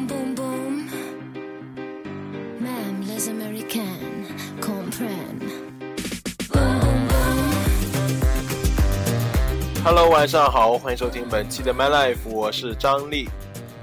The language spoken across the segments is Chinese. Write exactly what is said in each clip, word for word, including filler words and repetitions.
boum boum, même les Américains comprennent. Boum boum boum. Hello， 晚上好，欢迎收听本期的 My Life， 我是張力。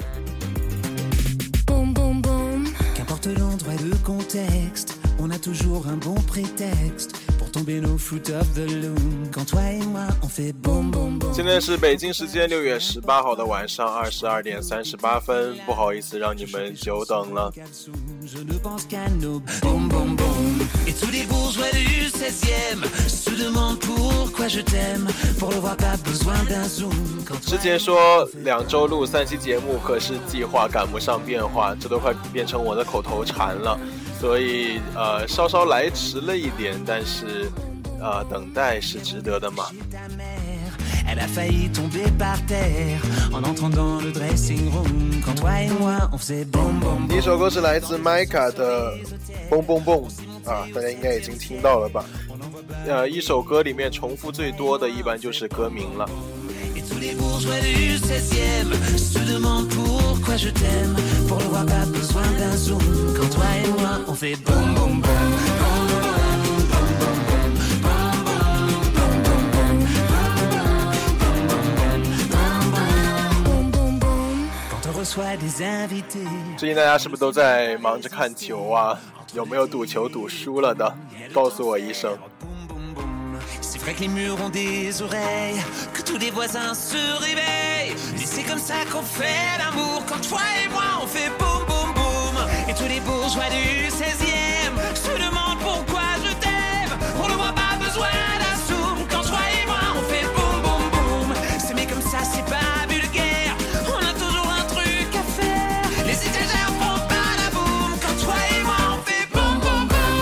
Boum boum boum. Qu'importe l'endroit et le contexte, on a toujours un bon prétexte pour tomber nos foot of the loom. Quand toi et moi, on fait boum boum boum. 现在是北京时间六月十八号的晚上二十二点三十八分，不好意思让你们久等了。 Je ne pense qu'à nos boum boum boum. Et tous les bourgeois du seizième se demandent pourquoi je t'aime. Pour le voir, pas besoin d'un zoom. 之前说两周录三期节目，可是计划赶不上变化，这都快变成我的口头禅了，所以呃稍稍来迟了一点，但是呃等待是值得的嘛。 Elle a failli tomber par terre en entrant dans le dressing room. Quand toi et moi, on faisait boum boum boum. 第一首歌是来自 Micah 的蹦蹦蹦啊，大家应该已经听到了吧？呃，一首歌里面重复最多的一般就是歌名了。 Et tous les bourgeois du seizième se demandent pourquoi je t'aime. Pour le voir, pas besoin d'un zoom. Quand toi et moi, on fait boum boum boum. Reçoit des invités. 最近大家是不是都在忙着看球啊？有没有赌球赌输了的？告诉我一声。 C'est vrai que les murs ont des oreilles, que tous les voisins se réveillent. Et c'est comme ça qu'on fait l'amour. Quand toi et moi on fait boum boum boum. Et tous les bourgeois du seizième se demandent pourquoi je t'aime. On ne voit pas besoin d'un zoom. Quand toi et moi on fait boum boum boum. C'est mais comme ça c'est pas vulgaire. On a toujours un truc à faire. Les étagères font pas la boum. Quand toi et moi on fait boum boum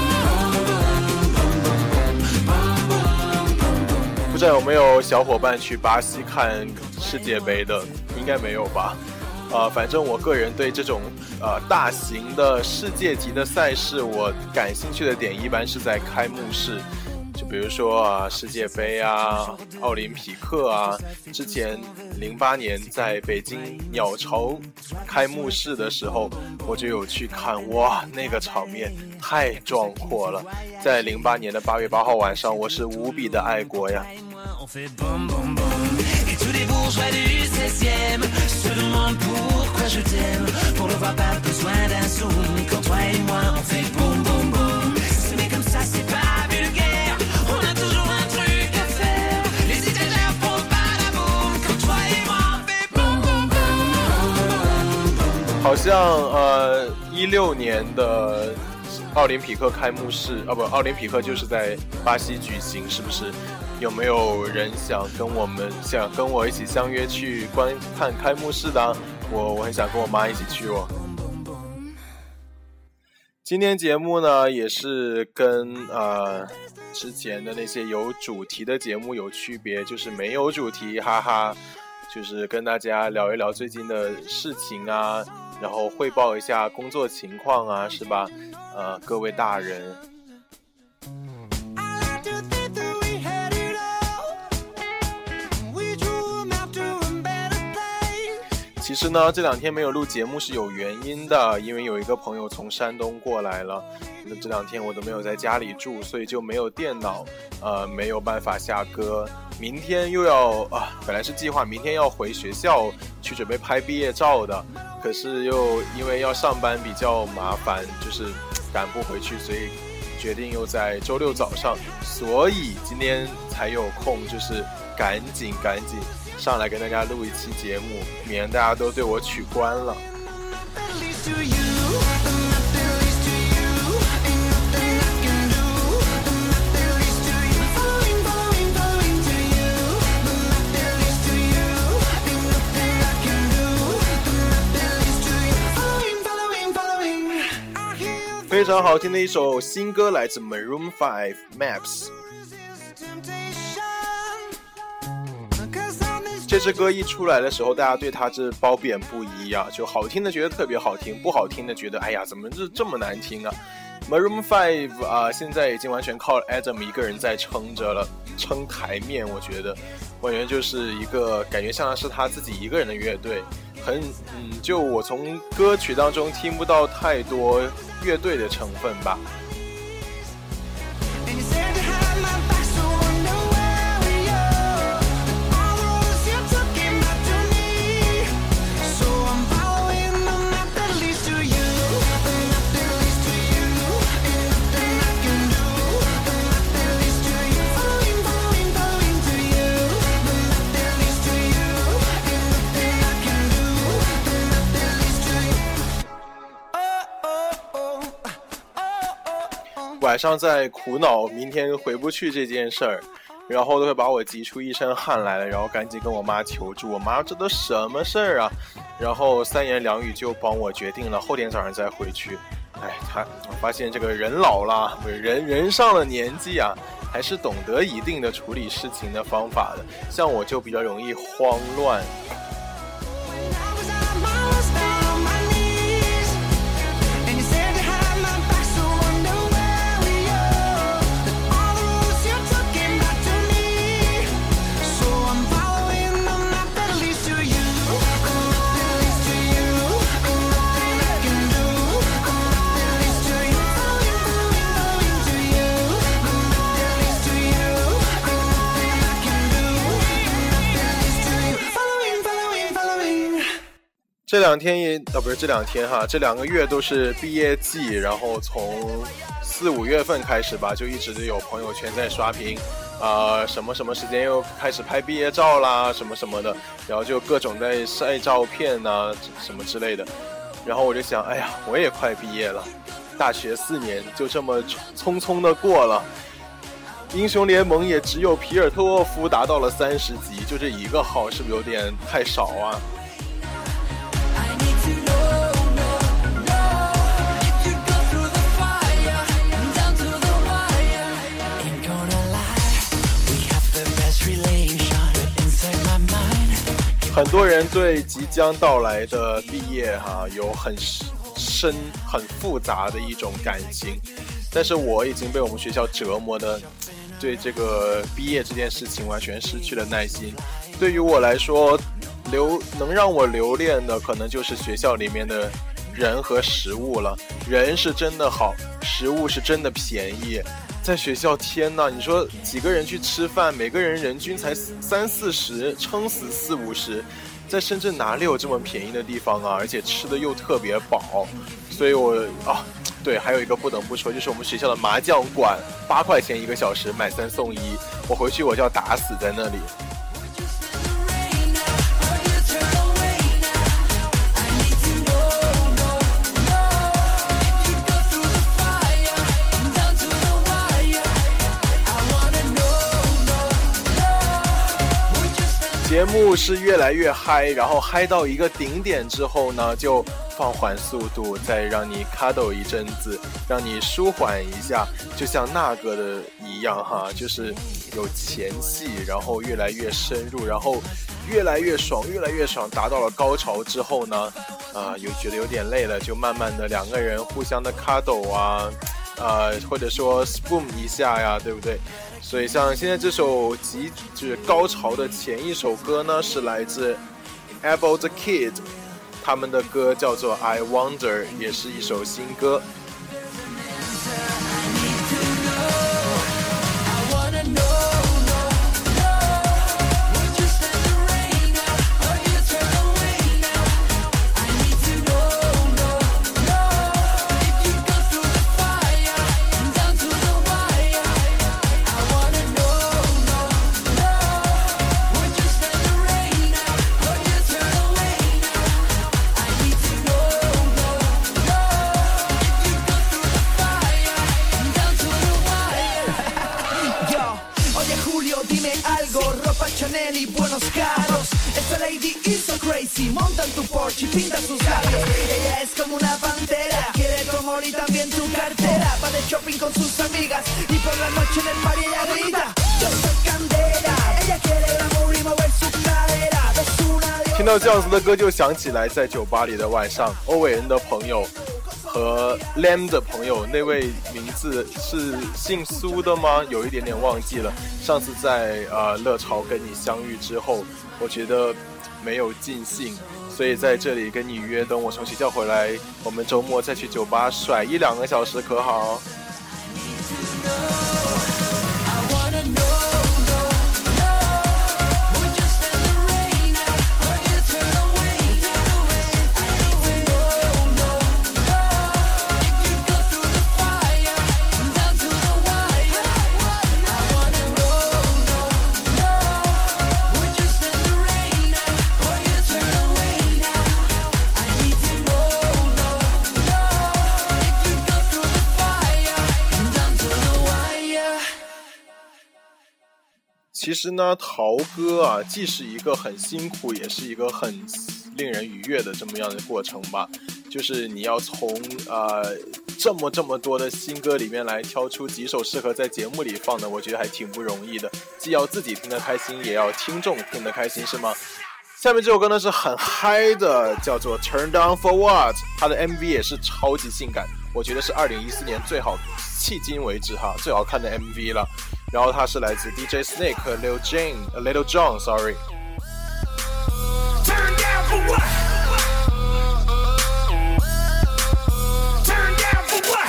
boum. 不知道有没有小伙伴去巴西看世界杯的？应该没有吧？呃，反正我个人对这种呃大型的世界级的赛事，我感兴趣的点一般是在开幕式。 就比如说啊，世界杯啊，奥林匹克啊，之前零八年在北京鸟巢开幕式的时候，我就有去看，哇，那个场面太壮阔了。在零八年的八月八号晚上，我是无比的爱国呀。 On fait boum boum boum. Et tous les bourgeois du seizième se demandent pourquoi je t'aime. Pour le voir, pas besoin d'un zoom. Quand toi et moi, on fait boum boum boum. C'est mais comme ça, c'est pas vulgaire. On a toujours un truc à faire. Les étagères font pas la boum. Quand toi et moi, on fait boum boum boum. 好像呃一六年的奥林匹克开幕式啊，不，奥林匹克就是在巴西举行，是不是？ 有没有人想跟我们想跟我一起相约去观看开幕式的？我我很想跟我妈一起去哦。今天节目呢也是跟呃之前的那些有主题的节目有区别，就是没有主题，哈哈，就是跟大家聊一聊最近的事情啊，然后汇报一下工作情况啊，是吧？呃，各位大人。 其实呢，这两天没有录节目是有原因的，因为有一个朋友从山东过来了，那这两天我都没有在家里住，所以就没有电脑，呃，没有办法下歌。明天又要啊，本来是计划明天要回学校去准备拍毕业照的，可是又因为要上班比较麻烦，就是赶不回去，所以决定又在周六早上，所以今天才有空，就是赶紧赶紧。 上来跟大家录一期节目，免得大家都对我取关了。非常好听的一首新歌，来自 Maroon five Maps。 这支歌一出来的时候，大家对它是褒贬不一啊，就好听的觉得特别好听，不好听的觉得哎呀，怎么这这么难听啊 ？Maroon five 啊、呃，现在已经完全靠 Adam 一个人在撑着了，撑台面。我觉得，完全就是一个感觉像是他自己一个人的乐队， 很嗯，就我从歌曲当中听不到太多乐队的成分吧。晚上在苦恼明天回不去这件事儿，然后都会把我急出一身汗来了，然后赶紧跟我妈求助。我妈这都什么事儿啊？然后三言两语就帮我决定了后天早上再回去。哎，他我发现这个人老了，不是人人上了年纪啊，还是懂得一定的处理事情的方法的。像我就比较容易慌乱。这两天也啊不是这两天哈，这两个月都是毕业季，然后从四五月份开始吧，就一直有朋友圈在刷屏，啊、呃、什么什么时间又开始拍毕业照啦，什么什么的，然后就各种在晒照片啊什么之类的，然后我就想，哎呀，我也快毕业了，大学四年就这么匆匆的过了。英雄联盟也只有皮尔特沃夫达到了三十级，就这一个号，是不是有点太少啊？很多人对即将到来的毕业哈、啊、有很深很复杂的一种感情，但是我已经被我们学校折磨的对这个毕业这件事情完全失去了耐心。对于我来说，留能让我留恋的可能就是学校里面的人和食物了。人是真的好，食物是真的便宜。在学校，天哪！你说几个人去吃饭，每个人人均才三四十，撑死四五十。在深圳哪里有这么便宜的地方啊？而且吃的又特别饱，所以我啊，对，还有一个不得不说，就是我们学校的麻将馆，八块钱一个小时，买三送一。我回去我就要打死在那里。节目是越来越嗨，然后嗨到一个顶点之后呢，就放缓速度，再让你 cuddle 一阵子，让你舒缓一下，就像那个的一样哈，就是有前戏，然后越来越深入，然后越来越爽，越来越爽，达到了高潮之后呢，啊、呃，又觉得有点累了，就慢慢的两个人互相的 cuddle 啊，呃，或者说 spoon 一下呀，对不对？所以像现在这首极致高潮的前一首歌呢，是来自 About the Kid， 他们的歌叫做 I Wonder， 也是一首新歌。 Chanel y buenos carros. Esta lady is so crazy. Monta en tu Porsche y pinta sus labios. Ella es como una pantera. Quiere tu amor y también tu cartera. Va de shopping con sus amigas y por la noche en el party ella grita. Yo soy Candela. Ella quiere el amor y mover su cadera. Es una diosa. 听到这样子的歌，就想起来在酒吧里的晚上，欧伟恩的朋友和 Lam 的朋友，那位名字是姓苏的吗？有一点点忘记了。上次在呃乐潮跟你相遇之后，我觉得没有尽兴， 所以在这里跟你约，等我从学校回来，我们周末再去酒吧甩一两个小时，可好？其实呢，陶歌啊，既是一个很辛苦，也是一个很令人愉悦的这么样的过程吧。就是你要从呃这么这么多的新歌里面来挑出几首适合在节目里放的，我觉得还挺不容易的。既要自己听得开心，也要听众听得开心，是吗？下面这首歌呢是很嗨的，叫做 Turn Down For What， 它的 M V 也是超级性感，我觉得是二零一四年最好，迄今为止哈最好看的 M V 了。然后它是来自 D J Snake 和 Lil Jane、uh, Little John sorry。 Turn down for what? Turn down for what?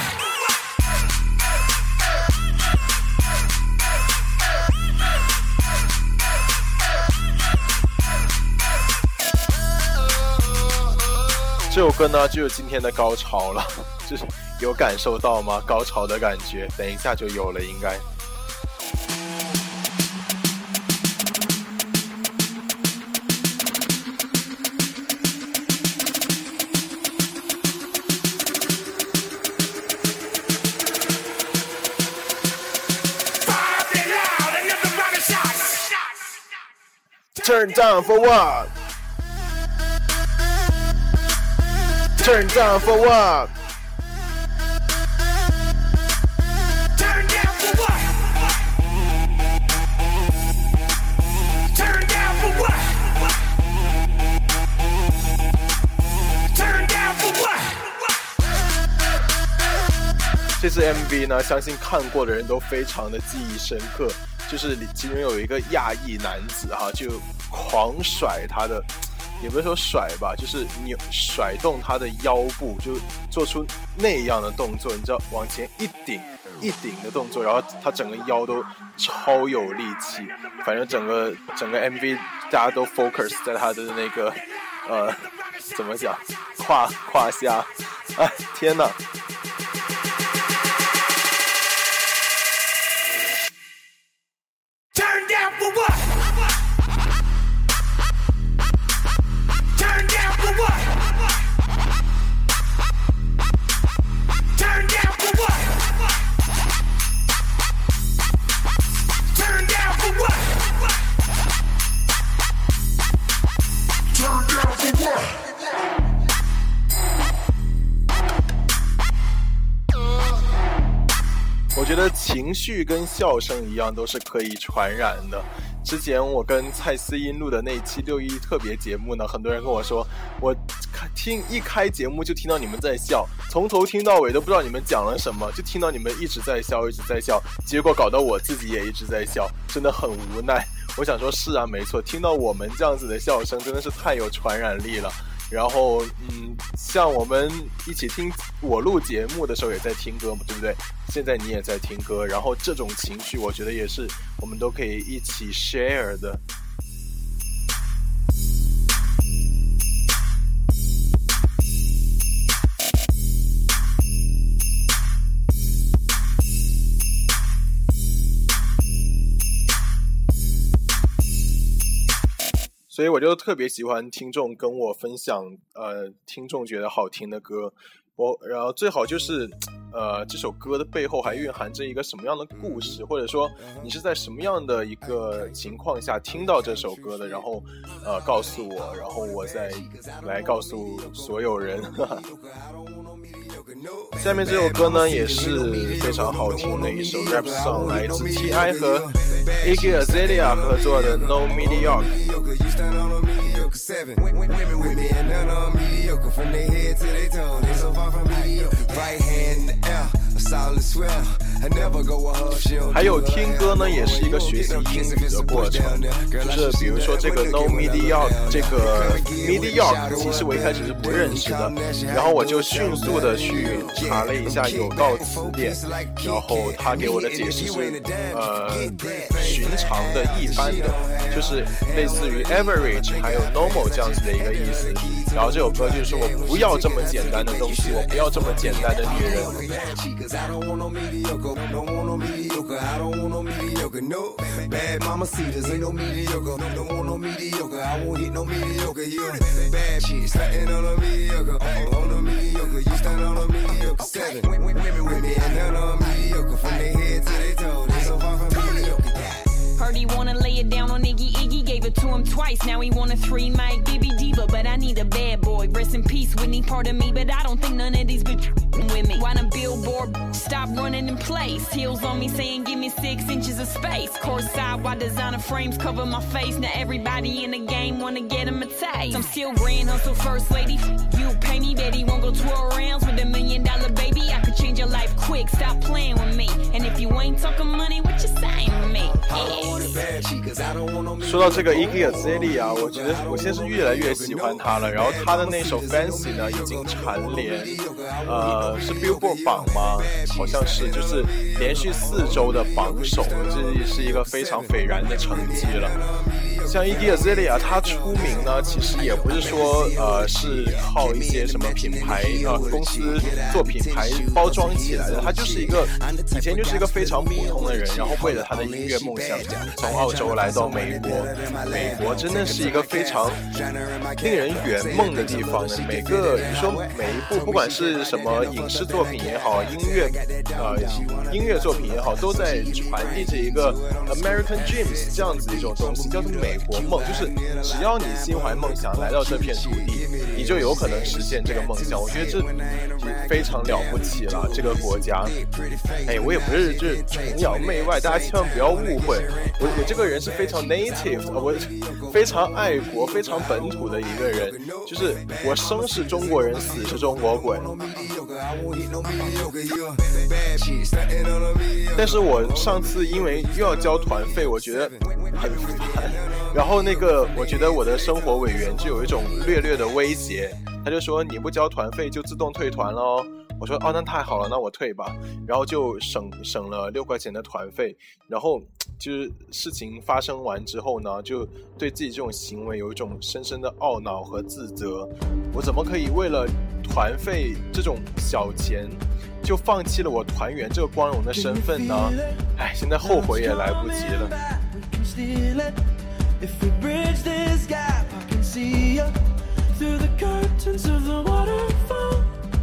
这首歌呢就是今天的高潮了，就是有感受到吗？高潮的感觉，等一下就有了应该。Turn down for what? Turn down for what? Turn down for what? Turn down for what? Turn down for what? 这次 M V 呢，相信看过的人都非常的记忆深刻。就是其中有一个亚裔男子哈，就狂甩他的，也不是说甩吧，就是扭甩动他的腰部，就做出那样的动作，你知道，往前一顶一顶的动作，然后他整个腰都超有力气。反正整个整个 M V 大家都 focus 在他的那个呃怎么讲胯胯下，哎天哪！我觉得情绪跟笑声一样都是可以传染的。之前我跟蔡思音录的那期六一特别节目呢，很多人跟我说，我听一开节目就听到你们在笑，从头听到尾都不知道你们讲了什么，就听到你们一直在笑一直在笑，结果搞到我自己也一直在笑，真的很无奈。我想说是啊，没错，听到我们这样子的笑声真的是太有传染力了。然后嗯，像我们一起听我录节目的时候也在听歌嘛，对不对？现在你也在听歌，然后这种情绪我觉得也是我们都可以一起 share 的。所以我就特别喜欢听众跟我分享，呃，听众觉得好听的歌，我然后最好就是，呃，这首歌的背后还蕴含着一个什么样的故事，或者说你是在什么样的一个情况下听到这首歌的，然后呃告诉我，然后我再来告诉所有人。下面这首歌呢也是非常好听的一首 rap song， 来自 T I 和 Iggy Azalea 合作的 No Mediocre。 Right hand in the air, a solid swell. 还有听歌呢，也是一个学习英语的过程。就是比如说这个 No Mediocre， 这个 Mediocre， 其实我一开始是不认识的，然后我就迅速的去查了一下有道词典，然后他给我的解释是，呃，寻常的、一般的，就是类似于 average 还有 normal 这样子的一个意思。然后这首歌就是说我不要这么简单的东西，我不要这么简单的女人。 Heard he wanna lay it down on Iggy Iggy, gave it to him twice. Now he want a three mic B B diva, but I need a bad boy. Rest in peace, Whitney, part of me, but I don't think none of these bitches with me. Why the billboard stop running in place? Heels on me saying give me six inches of space. Course side, why designer frames cover my face? Now everybody in the game wanna get him a taste. I'm still grand hustle first lady. You pay me, bet he won't go twelve rounds with a million dollar baby. I could change your life quick, stop playing with me. And if you ain't talking money, what you saying with me? Yeah. 说到这个 Iggy Azalea 啊，我觉得我现在是越来越喜欢他了。然后他的那首 Fancy 呢，已经蝉联，呃，是 Billboard 榜吗？好像是，就是连续四周的榜首，这是一个非常斐然的成绩了。像 Iggy Azalea 他出名呢，其实也不是说呃是靠一些什么品牌呃公司做品牌包装起来的，他就是一个以前就是一个非常普通的人，然后为了他的音乐梦想从澳洲来到美国。美国真的是一个非常令人圆梦的地方的，每个你说每一部不管是什么影视作品也好，音乐呃音乐作品也好，都在传递着一个 American Dreams 这样子的一种东西，叫做美国梦，就是只要你心怀梦想来到这片土地，你就有可能实现这个梦想。我觉得这非常了不起了，这个国家。哎，我也不是就是崇洋媚外，大家千万不要误会，我我这个人是非常 native 的，我非常爱国、非常本土的一个人，就是我生是中国人，死是中国鬼。但是我上次因为又要交团费，我觉得很烦。然后那个，我觉得我的生活委员就有一种略略的威胁，他就说你不交团费就自动退团了哦。我说哦，那太好了，那我退吧。然后就省省了六块钱的团费。然后就是事情发生完之后呢，就对自己这种行为有一种深深的懊恼和自责。我怎么可以为了团费这种小钱，就放弃了我团员这个光荣的身份呢？哎，现在后悔也来不及了。 If we bridge this gap, I can see you through the curtains of the waterfall.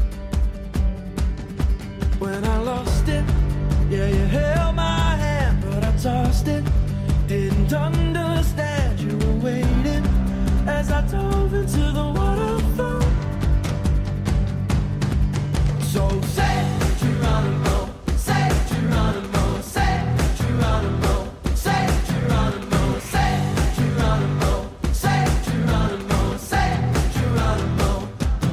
When I lost it, yeah, you held my hand, but I tossed it. Didn't understand you were waiting as I dove into the waterfall. So say Geronimo, say Geronimo, say Geronimo, say Geronimo, say Geronimo, say Geronimo, say Geronimo.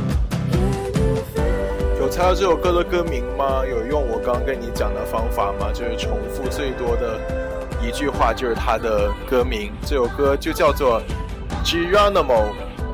有猜到这首歌的歌名吗？有用我刚刚跟你讲的方法吗？就是重复最多的一句话就是它的歌名。这首歌就叫做 Geronimo。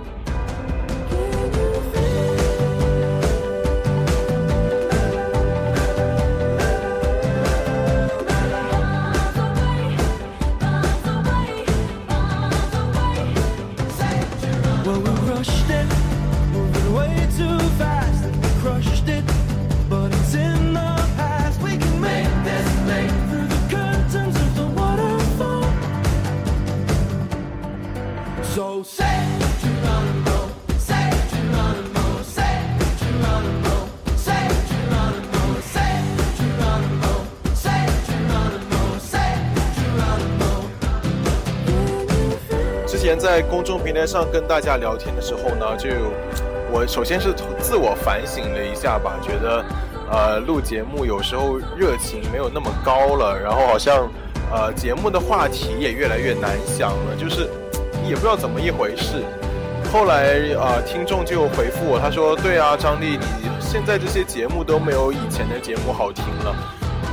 之前在公众平台上跟大家聊天的时候呢，就我首先是自我反省了一下吧，觉得呃录节目有时候热情没有那么高了，然后好像呃节目的话题也越来越难想了，就是也不知道怎么一回事。后来呃听众就回复我，他说对啊，张力，你现在这些节目都没有以前的节目好听了。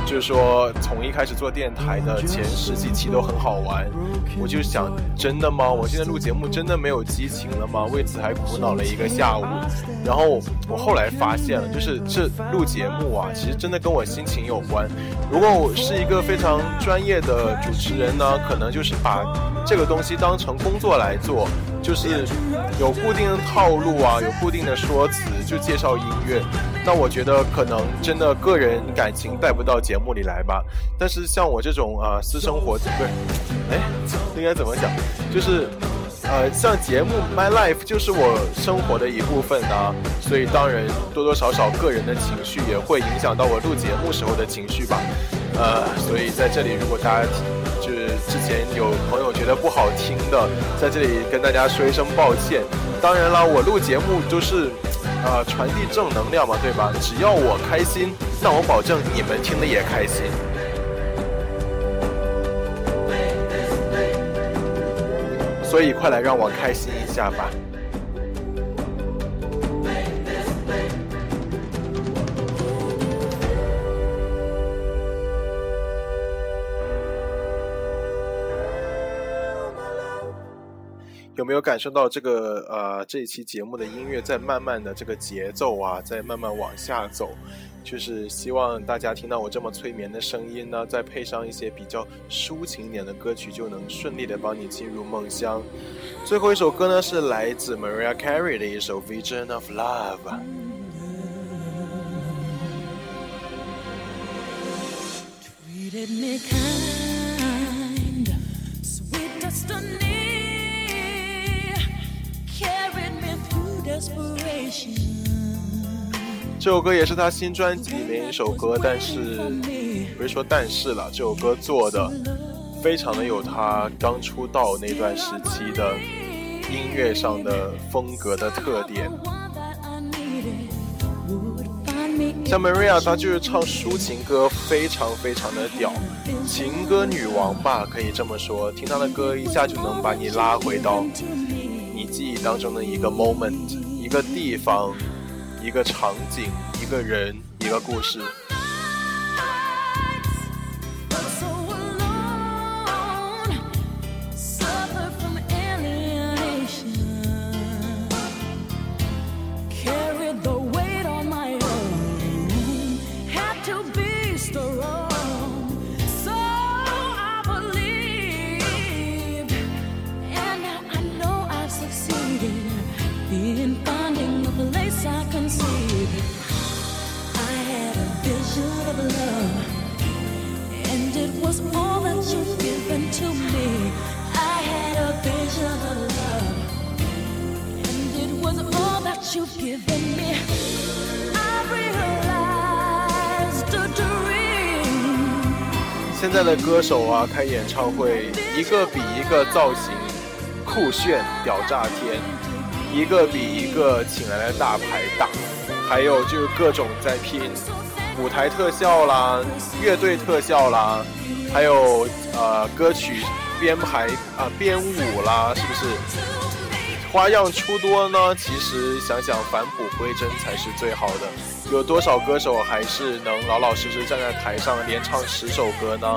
就是说从一开始做电台的前十几期都很好玩，我就想真的吗？我现在录节目真的没有激情了吗？为此还苦恼了一个下午。然后我后来发现了，就是这录节目啊，其实真的跟我心情有关。如果我是一个非常专业的主持人呢，可能就是把这个东西当成工作来做，就是有固定的套路啊，有固定的说辞，就介绍音乐。那我觉得可能真的个人感情带不到节目里来吧。但是像我这种啊、呃、私生活，不是，哎，应该怎么讲？就是呃，像节目 My Life 就是我生活的一部分啊，所以当然多多少少个人的情绪也会影响到我录节目时候的情绪吧。呃，所以在这里，如果大家就是之前有朋友觉得不好听的，在这里跟大家说一声抱歉。当然了，我录节目就是呃传递正能量嘛，对吧？只要我开心，那我保证你们听的也开心。所以快来让我开心一下吧。有没有感受到这个呃这一期节目的音乐在慢慢的这个节奏啊，在慢慢往下走？就是希望大家听到我这么催眠的声音呢，再配上一些比较抒情一点的歌曲，就能顺利的帮你进入梦乡。最后一首歌呢是来自 Mariah Carey 的一首 Vision of Love。 Treated me kind, sweet destiny, carried me through desperation。 这首歌也是他新专辑里面一首歌，但是不是说但是了，这首歌做的非常的有他刚出道那段时期的音乐上的风格的特点。像 Mariah 她就是唱抒情歌非常非常的屌，情歌女王吧，可以这么说。听她的歌一下就能把你拉回到你记忆当中的一个 moment， 一个地方，一个场景，一个人，一个故事。现在的歌手啊，开演唱会一个比一个造型酷炫屌炸天，一个比一个请来的大牌大，还有就是各种在拼舞台特效啦、乐队特效啦，还有呃歌曲编排啊、呃、编舞啦，是不是花样出多呢？其实想想返璞归真才是最好的。有多少歌手还是能老老实实站在台上连唱十首歌呢？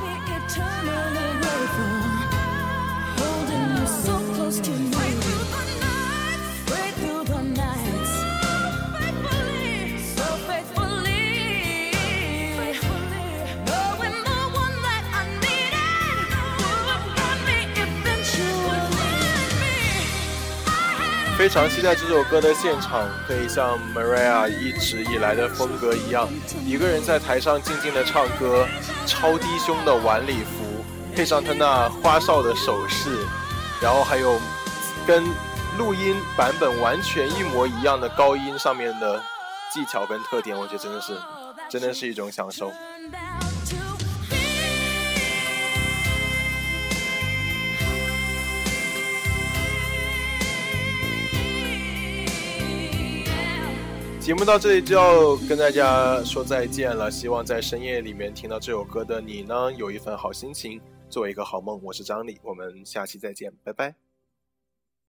非常期待这首歌的现场，可以像 Mariah 一直以来的风格一样，一个人在台上静静的唱歌，超低胸的晚礼服，配上他那花哨的手势，然后还有跟录音版本完全一模一样的高音上面的技巧跟特点，我觉得真的是真的是一种享受。节目到这里就要跟大家说再见了，希望在深夜里面听到这首歌的你呢，有一份好心情，做一个好梦。我是张力，我们下期再见，拜拜。